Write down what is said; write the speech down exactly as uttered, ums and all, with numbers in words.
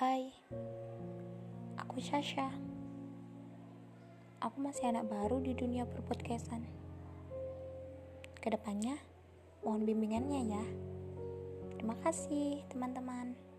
Hai, aku Sasha. Aku masih anak baru di dunia perpodcastan. Kedepannya, mohon bimbingannya ya. Terima kasih, teman-teman.